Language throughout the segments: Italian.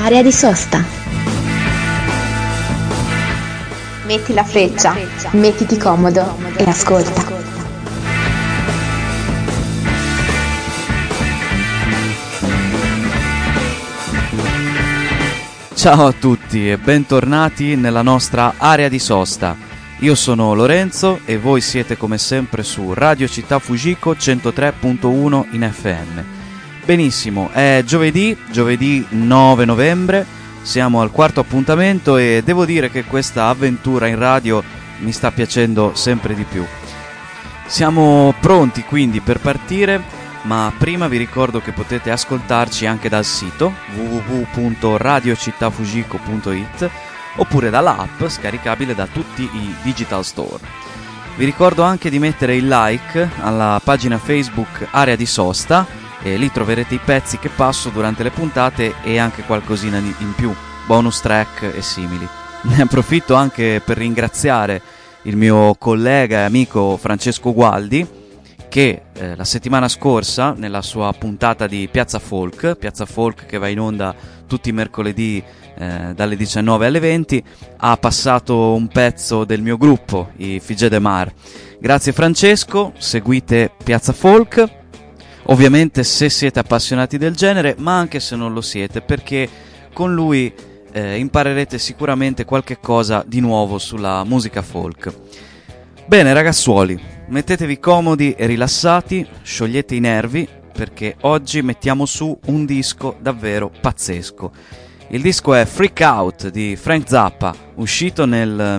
Area di sosta. Metti la freccia, mettiti comodo e ascolta. Ciao a tutti e bentornati nella nostra area di sosta. Io sono Lorenzo e voi siete come sempre su Radio Città Fujiko 103.1 in FM. Benissimo, è giovedì 9 novembre, siamo al quarto appuntamento e devo dire che questa avventura in radio mi sta piacendo sempre di più. Siamo pronti quindi per partire, ma prima vi ricordo che potete ascoltarci anche dal sito www.radiocittafujiko.it oppure dalla app scaricabile da tutti i digital store. Vi ricordo anche di mettere il like alla pagina Facebook Area di Sosta e lì troverete i pezzi che passo durante le puntate e anche qualcosina in più, bonus track e simili. Ne approfitto anche per ringraziare il mio collega e amico Francesco Gualdi che la settimana scorsa nella sua puntata di Piazza Folk che va in onda tutti i mercoledì dalle 19 alle 20 ha passato un pezzo del mio gruppo, i Figé de Mar. Grazie Francesco, seguite Piazza Folk ovviamente se siete appassionati del genere, ma anche se non lo siete, perché con lui imparerete sicuramente qualche cosa di nuovo sulla musica folk. Bene ragazzuoli, mettetevi comodi e rilassati, sciogliete i nervi, perché oggi mettiamo su un disco davvero pazzesco. Il disco è Freak Out di Frank Zappa, uscito nel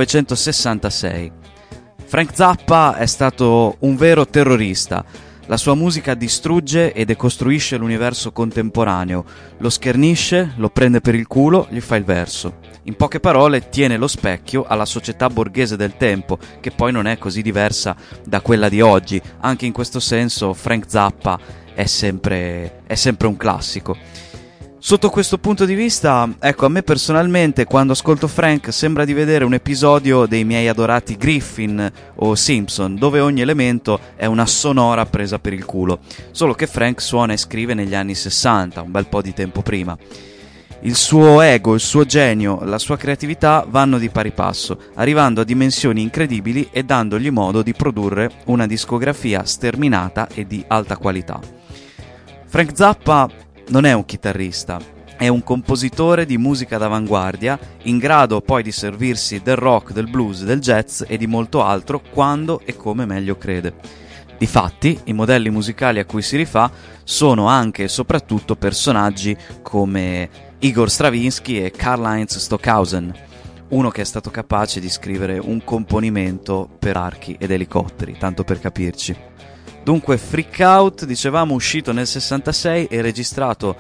1966. Frank Zappa è stato un vero terrorista. La sua musica distrugge e decostruisce l'universo contemporaneo, lo schernisce, lo prende per il culo, gli fa il verso. In poche parole, tiene lo specchio alla società borghese del tempo, che poi non è così diversa da quella di oggi. Anche in questo senso Frank Zappa è sempre un classico. Sotto questo punto di vista, ecco, a me personalmente quando ascolto Frank sembra di vedere un episodio dei miei adorati Griffin o Simpson, dove ogni elemento è una sonora presa per il culo, solo che Frank suona e scrive negli anni 60, un bel po' di tempo prima. Il suo ego, il suo genio, la sua creatività vanno di pari passo, arrivando a dimensioni incredibili e dandogli modo di produrre una discografia sterminata e di alta qualità. Frank Zappa non è un chitarrista, è un compositore di musica d'avanguardia, in grado poi di servirsi del rock, del blues, del jazz e di molto altro quando e come meglio crede. Difatti, i modelli musicali a cui si rifà sono anche e soprattutto personaggi come Igor Stravinsky e Karlheinz Stockhausen, uno che è stato capace di scrivere un componimento per archi ed elicotteri, tanto per capirci. Dunque Freak Out, dicevamo, uscito nel 66 e registrato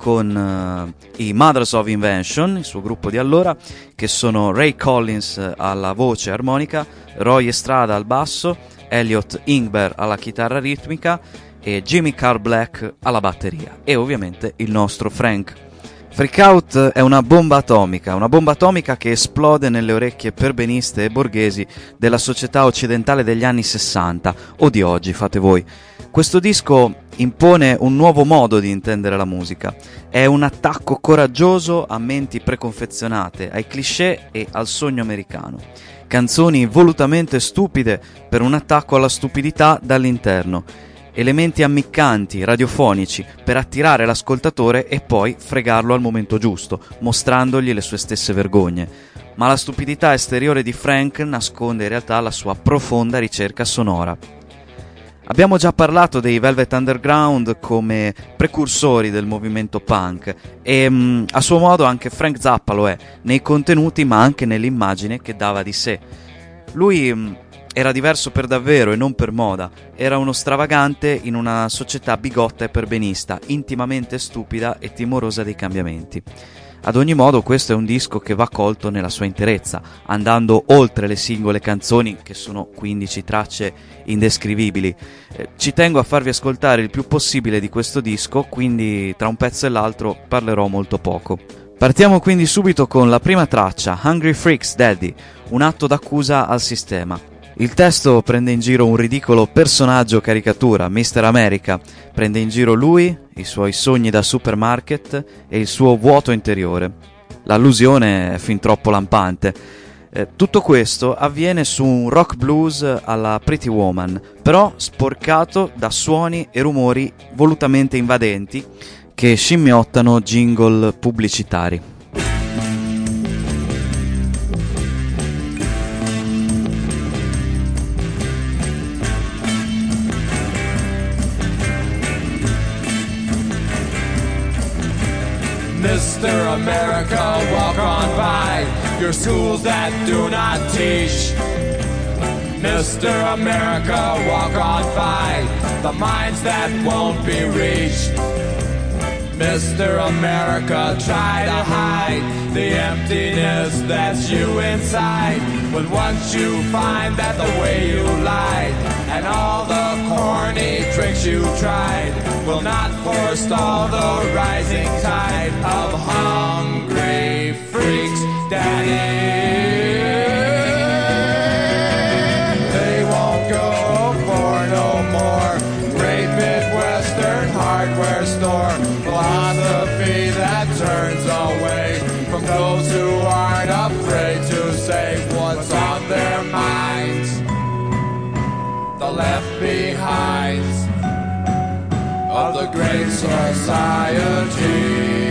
con i Mothers of Invention, il suo gruppo di allora, che sono Ray Collins alla voce armonica, Roy Estrada al basso, Elliot Ingber alla chitarra ritmica e Jimmy Carl Black alla batteria e ovviamente il nostro Frank. Freak Out è una bomba atomica che esplode nelle orecchie perbeniste e borghesi della società occidentale degli anni 60 o di oggi, fate voi. Questo disco impone un nuovo modo di intendere la musica, è un attacco coraggioso a menti preconfezionate, ai cliché e al sogno americano. Canzoni volutamente stupide per un attacco alla stupidità dall'interno. Elementi ammiccanti, radiofonici, per attirare l'ascoltatore e poi fregarlo al momento giusto, mostrandogli le sue stesse vergogne. Ma la stupidità esteriore di Frank nasconde in realtà la sua profonda ricerca sonora. Abbiamo già parlato dei Velvet Underground come precursori del movimento punk e a suo modo anche Frank Zappa lo è, nei contenuti ma anche nell'immagine che dava di sé. Lui era diverso per davvero e non per moda, era uno stravagante in una società bigotta e perbenista, intimamente stupida e timorosa dei cambiamenti. Ad ogni modo questo è un disco che va colto nella sua interezza, andando oltre le singole canzoni, che sono 15 tracce indescrivibili. Ci tengo a farvi ascoltare il più possibile di questo disco, quindi tra un pezzo e l'altro parlerò molto poco. Partiamo quindi subito con la prima traccia, Hungry Freaks Daddy, un atto d'accusa al sistema. Il testo prende in giro un ridicolo personaggio caricatura, Mr. America, prende in giro lui, i suoi sogni da supermarket e il suo vuoto interiore. L'allusione è fin troppo lampante. Tutto questo avviene su un rock blues alla Pretty Woman, però sporcato da suoni e rumori volutamente invadenti che scimmiottano jingle pubblicitari. Mr. America, walk on by your schools that do not teach. Mr. America, walk on by the minds that won't be reached. Mr. America, try to hide the emptiness that's you inside. But once you find that the way you lied and all the corny tricks you tried will not forestall the rising tide of hungry freaks, Daddy. They won't go for no more great Midwestern hardware store philosophy that turns away from those who aren't afraid to say what's on their minds. The left behinds of the great society.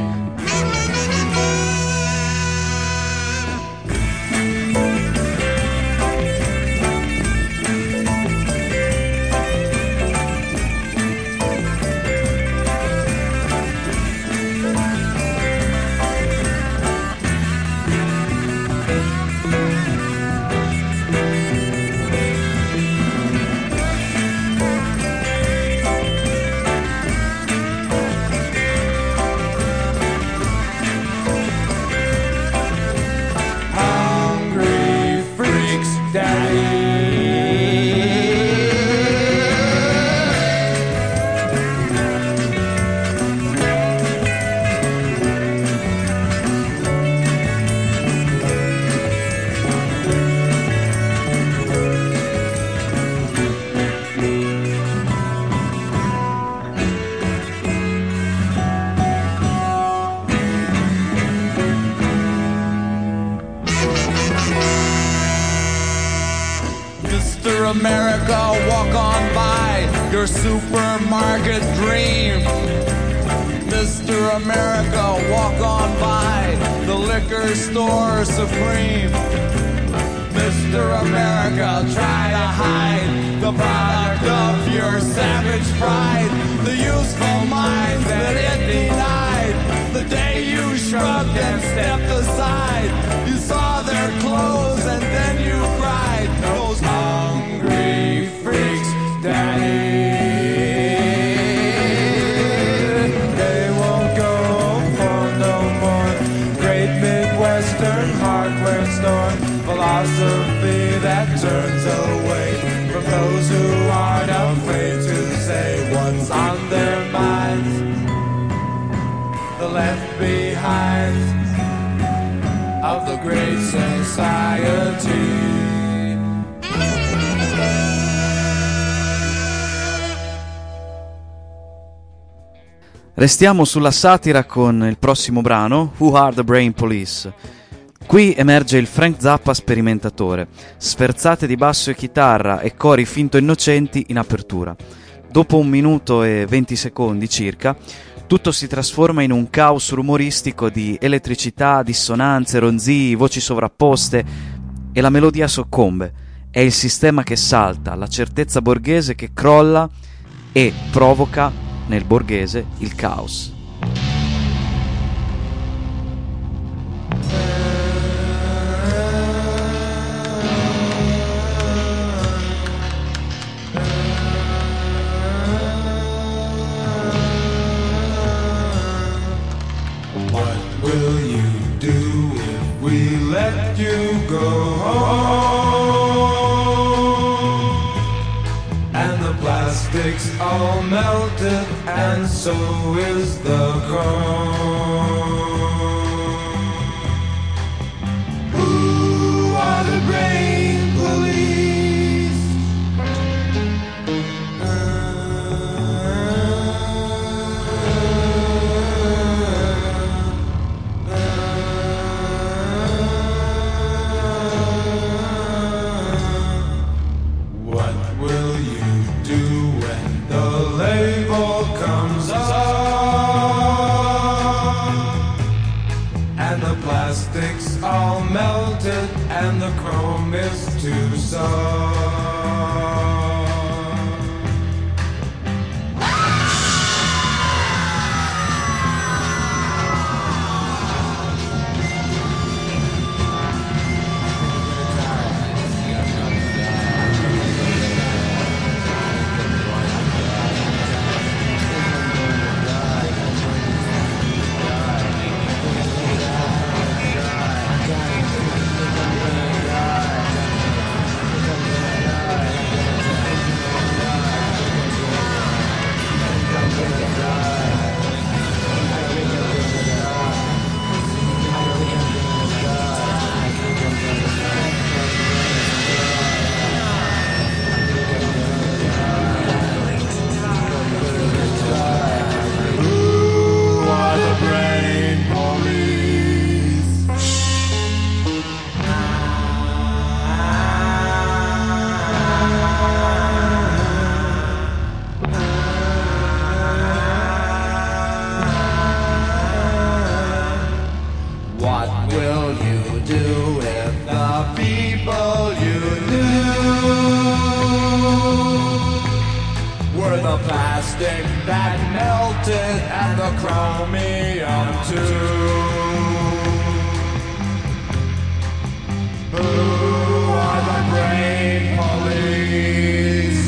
America, walk on by your supermarket dream. Mr. America, walk on by the liquor store supreme. Mr. America, try to hide the product of your savage pride, the useful minds that it denied. The day you shrugged and stepped aside, you saw their clothes and then you cried. Those hungry freaks, Daddy. They won't go for no more great Midwestern hardware store philosophy that turns away from those who aren't afraid to say what's on their minds. The left behind of the great society. Restiamo sulla satira con il prossimo brano, Who Are the Brain Police. Qui emerge il Frank Zappa sperimentatore, sferzate di basso e chitarra e cori finto innocenti in apertura. Dopo 1 minuto e 20 secondi circa, tutto si trasforma in un caos rumoristico di elettricità, dissonanze, ronzii, voci sovrapposte e la melodia soccombe. È il sistema che salta, la certezza borghese che crolla e provoca nel borghese il caos. What will you do if we let you go? And the plastic's all melted, and so is the chrome. Who are the brain police? plastic's all melted and the chrome is too soft. That melted and the chromium too. Who are the brain police?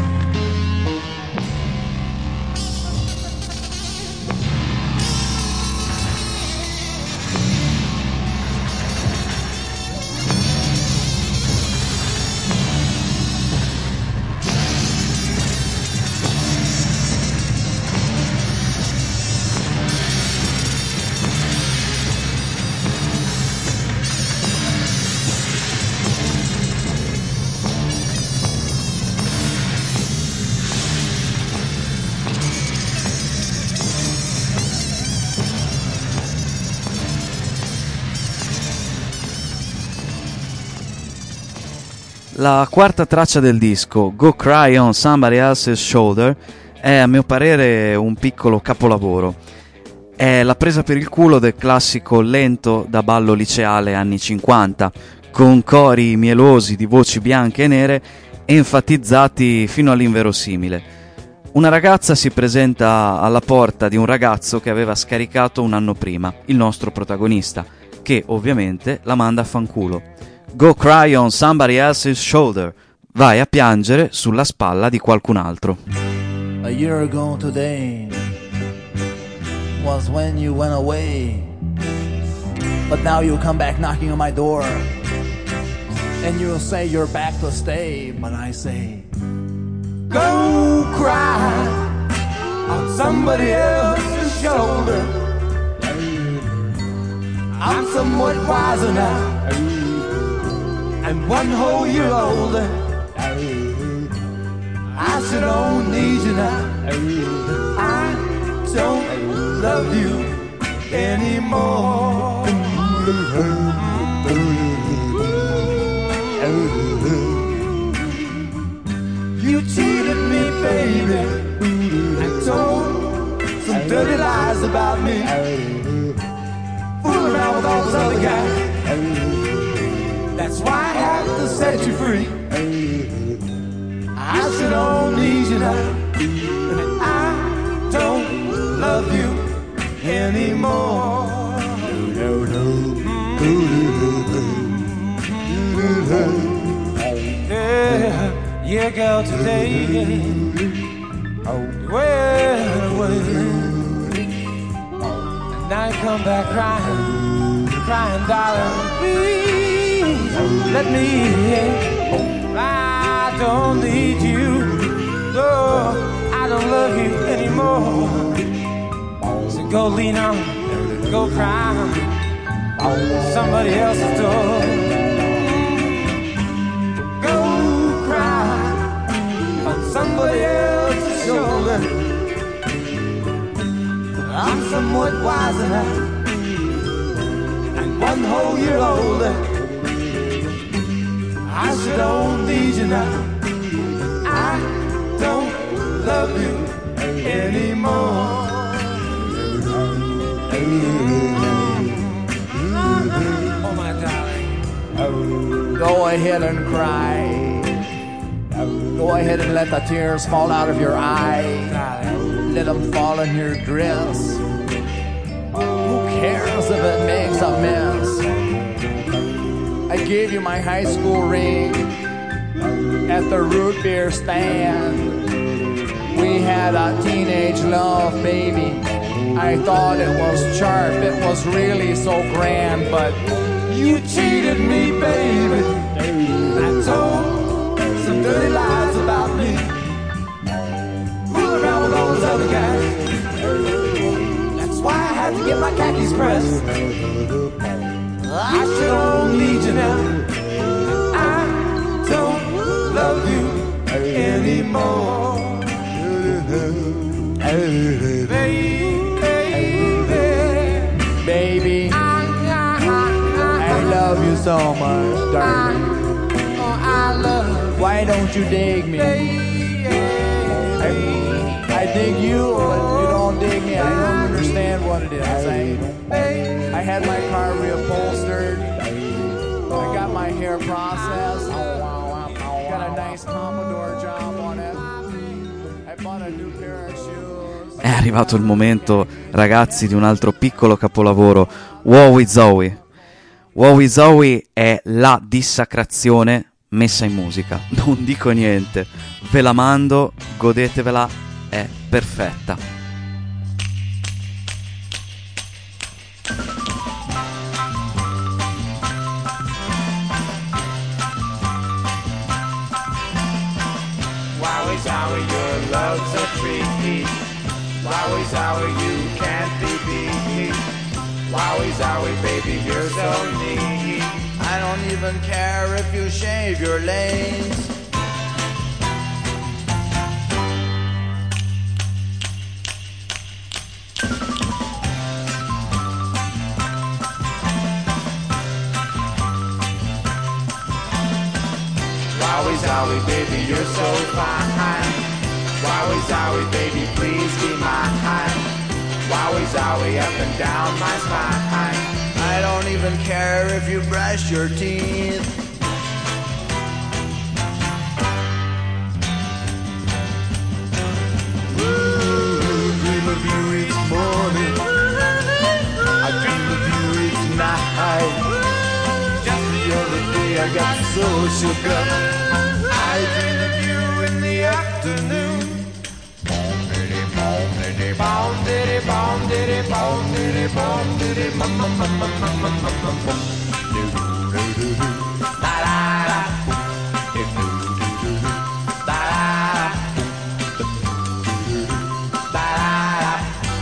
La quarta traccia del disco, Go Cry on Somebody Else's Shoulder, è a mio parere un piccolo capolavoro. È la presa per il culo del classico lento da ballo liceale anni 50, con cori mielosi di voci bianche e nere enfatizzati fino all'inverosimile. Una ragazza si presenta alla porta di un ragazzo che aveva scaricato un anno prima, il nostro protagonista, che ovviamente la manda a fanculo. Go cry on somebody else's shoulder. Vai a piangere sulla spalla di qualcun altro. A year ago today was when you went away, but now you come back knocking on my door, and you'll say you're back to stay, but I say, go cry on somebody else's shoulder. I'm somewhat wiser now, and one whole year older. I should don't need you now. I don't love you anymore. You cheated me, baby, and told some dirty lies about me. Fooling around with all those other guys. That's why I have to set you free. I should don't need you now, and I don't love you anymore. Yeah, girl, today went away, and now you come back crying, crying, darling, please let me in. I don't need you, no, I don't love you anymore. So go lean on, go cry on somebody else's door. Go cry on somebody else's shoulder. I'm somewhat wiser now, and one whole year older. I sure don't need you now. I don't love you anymore. Go ahead and cry. Go ahead and let the tears fall out of your eyes. Let them fall in your dress. Who cares if it makes a mess? I gave you my high school ring at the root beer stand. We had a teenage love, baby. I thought it was sharp, it was really so grand, but you cheated me, baby. I told some dirty lies about me. Fooling around with all those other guys. That's why I had to get my khakis pressed. I sure don't need you now. I don't love you anymore. Baby, I love you so much, darling. Why don't you dig me? I dig you, but you don't dig me. I don't understand what it is. I had my car reupholstered. I got my hair processed. Got a nice Commodore job on it. I bought a new pair of shoes. È arrivato il momento, ragazzi, di un altro piccolo capolavoro, Wowie Zowie. Wowie Zowie è la dissacrazione messa in musica. Non dico niente, ve la mando, godetevela, è perfetta. Wowie zowie, your love's a treat. Wowie zowie, you can't be beat. Wowie zowie, baby, you're so neat. I don't even care if you shave your legs. Wowie zowie, baby, you're so fine. Wowie zowie, baby, please be mine. Wowie zowie, up and down my spine. I don't even care if you brush your teeth. Dream of you each morning. I dream of you each night. Just the other day I got so shook up. I dream of you in the afternoon. Bom diddy bom diddy bom diddy bom diddy bom bom bom bom bom bom bom bom bom. La la la. La la la. La la.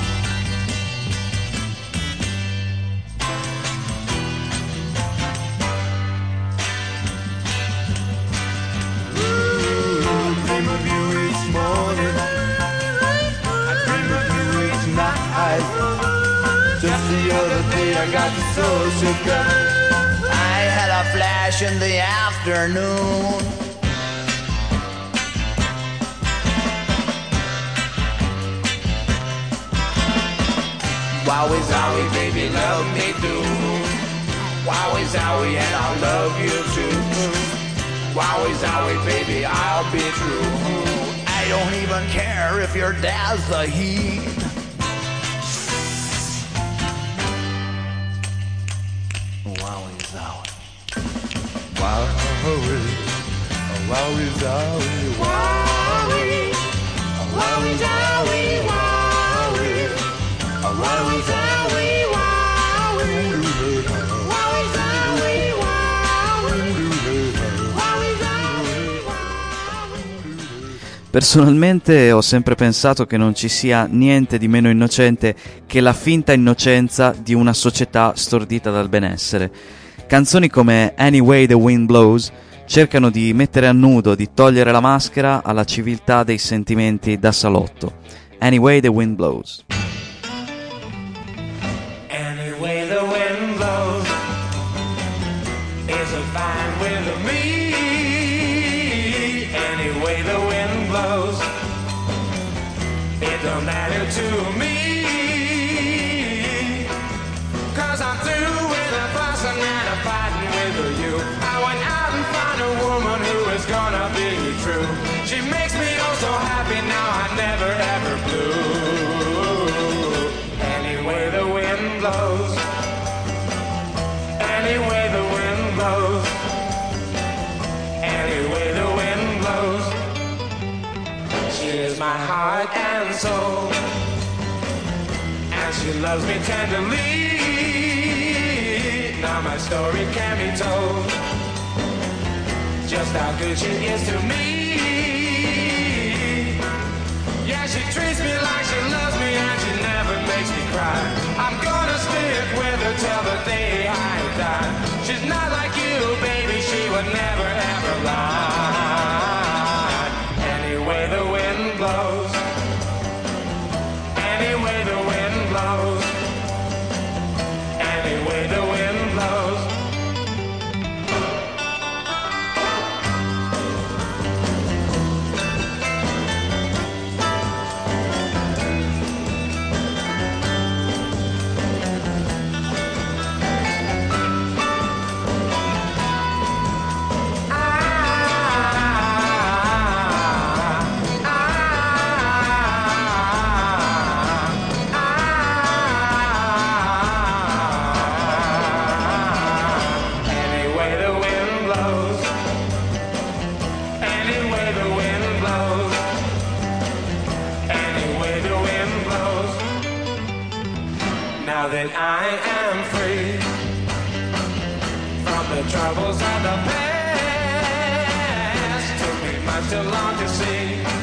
Dream of you each morning. Just the other day I got so shook up. I had a flash in the afternoon. Wowie zowie, baby, love me do. Wowie zowie, and I'll love you too. Wowie zowie, baby, I'll be true. I don't even care if your dad's the heat. Wowie zowie. Wowie, wowie zowie, Wowie, wowie zowie, wowie, wowie zowie, wowie, wowie zowie, wowie, wowie zowie, wowie. Personalmente ho sempre pensato che non ci sia niente di meno innocente che la finta innocenza di una società stordita dal benessere. Canzoni come Anyway the Wind Blows cercano di mettere a nudo, di togliere la maschera alla civiltà dei sentimenti da salotto. Anyway the Wind Blows. Anyway the wind blows is a fine with me. Anyway the wind blows, it don't matter to me. 'Cause I'm through with a fussing and a of fighting with you. I went out and found a woman who is gonna be true. She makes me oh so happy now I never ever blue. Any way the wind blows, any way the wind blows, any way the wind blows. She is my heart and soul, and she loves me tenderly. Now my story can be told, just how good she is to me. Yeah, she treats me like she loves me, and she never makes me cry. I'm gonna stick with her till the day I die. She's not like you, baby, she would never ever lie. Any way the wind blows, any way the wind blows, any way the wind blows. Now that I am free from the troubles of the past, took me much too long to see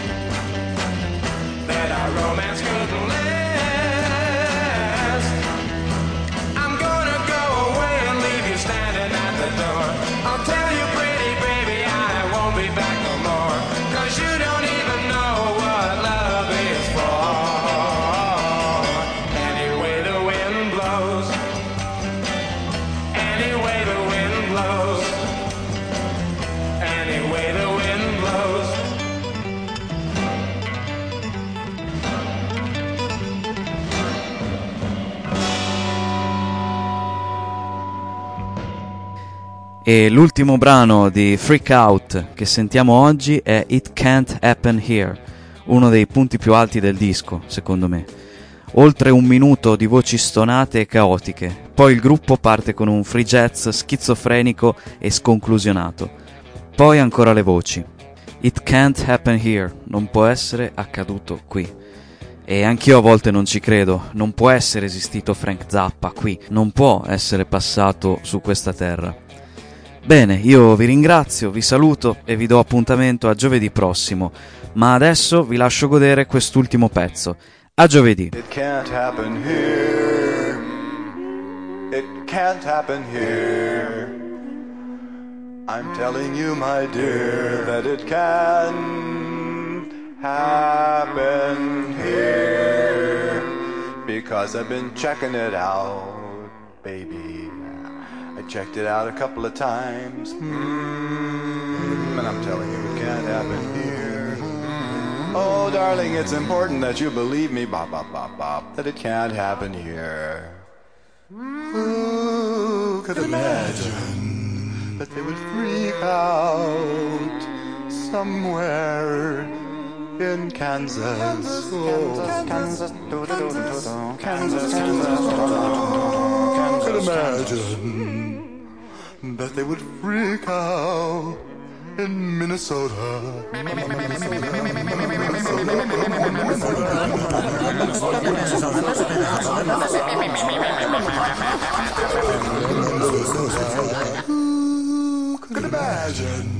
that our romance couldn't last. I'm gonna go away and leave you standing at the door. I'll tell you pretty baby I won't be back no more, 'cause you don't even know what love is for. E l'ultimo brano di Freak Out che sentiamo oggi è It Can't Happen Here, uno dei punti più alti del disco, secondo me. Oltre un minuto di voci stonate e caotiche, poi il gruppo parte con un free jazz schizofrenico e sconclusionato. Poi ancora le voci. It can't happen here, non può essere accaduto qui. E anch'io a volte non ci credo, non può essere esistito Frank Zappa qui, non può essere passato su questa terra. Bene, io vi ringrazio, vi saluto e vi do appuntamento a giovedì prossimo, ma adesso vi lascio godere quest'ultimo pezzo. A giovedì. It can't happen here. It can't happen here. I'm telling you, my dear, that it can't happen here. Because I've been checking it out, baby. I checked it out a couple of times, and I'm telling you, it can't happen here. Oh, darling, it's important that you believe me, bop, bop, bop, bop, that it can't happen here. Who could imagine that they would freak out somewhere in Kansas? Kansas. Could imagine that they would freak out in Minnesota. Who could imagine?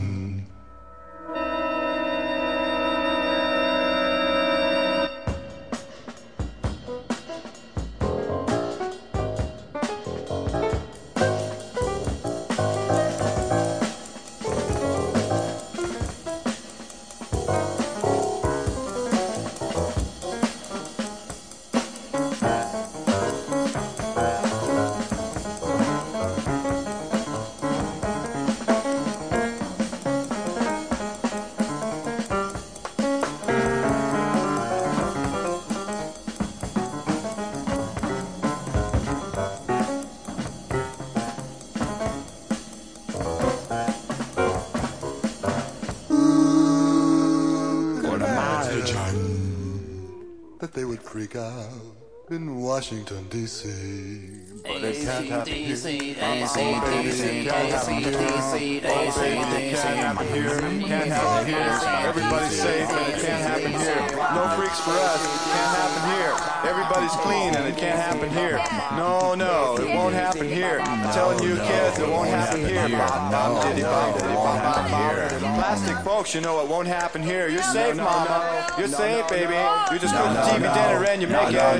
freak out in Washington, D.C. But it can't happen here. It can't happen here. Can't happen here. Everybody's safe and it can't happen here. No freaks for us. Can't happen here. Everybody's clean and it can't happen here. No, it won't happen here. I'm telling you kids, it won't happen here. Plastic folks, you know it won't happen here. You're safe, mama. You're safe, baby. You just put the TV dinner and you make it.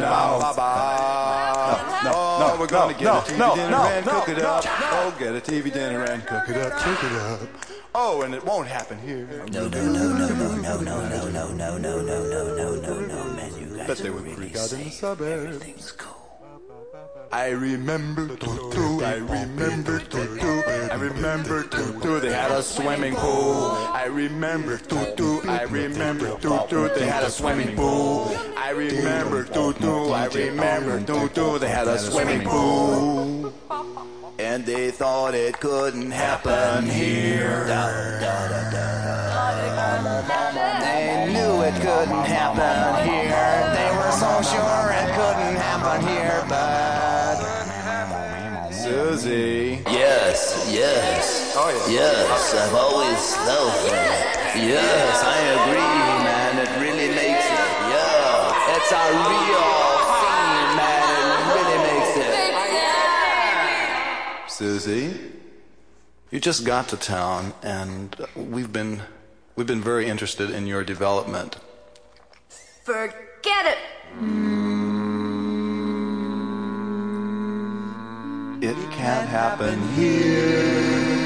Oh, we're gonna get a TV dinner and cook it up. Oh, get a TV dinner and cook it up. Oh, and it won't happen here. No, man, you guys. Bet they would freak out in the suburbs. Everything's cool. I remember Tutu, I remember Tutu, I remember Tutu, they had a swimming pool. I remember Tutu, I remember Tutu, they had a swimming pool. I remember Tutu, I remember Tutu, they had a swimming pool. And they thought it couldn't happen here. They knew it couldn't happen here. They were so sure it couldn't happen here, but Susie. Yes. Oh yeah. Yes, I've always felt that. Yes, I agree, man. It really makes it. Yeah, it's a real theme, man. It really makes it. Susie, you just got to town, and we've been very interested in your development. Forget it. It can't happen here.